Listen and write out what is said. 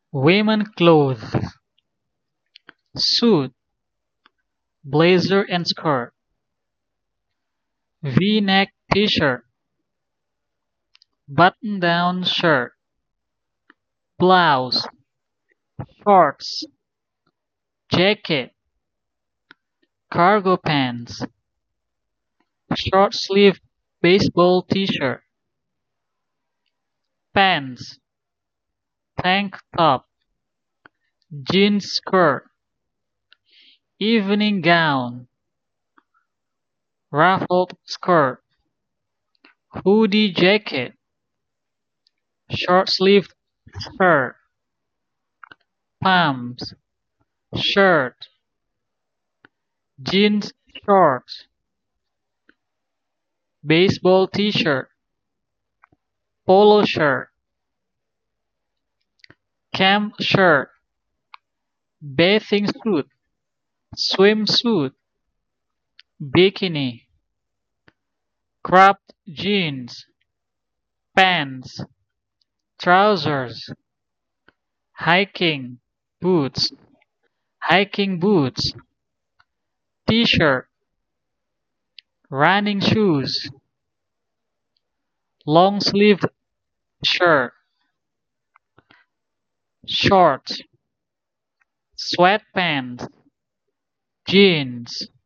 Women clothes: suit, blazer and skirt, V-neck t-shirt, button-down shirt, blouse, shorts, jacket, cargo pants, short-sleeved baseball t-shirt, pants, tank top, jeans skirt, evening gown, ruffled skirt, hoodie jacket, short-sleeved shirt, pumps, shirt, jeans shorts, baseball t-shirt, polo shirt, camp shirt, bathing suit, swimsuit, bikini, cropped jeans, pants, trousers, hiking boots, hiking boots, t-shirt, running shoes, long sleeved shirt, shorts, sweatpants, jeans.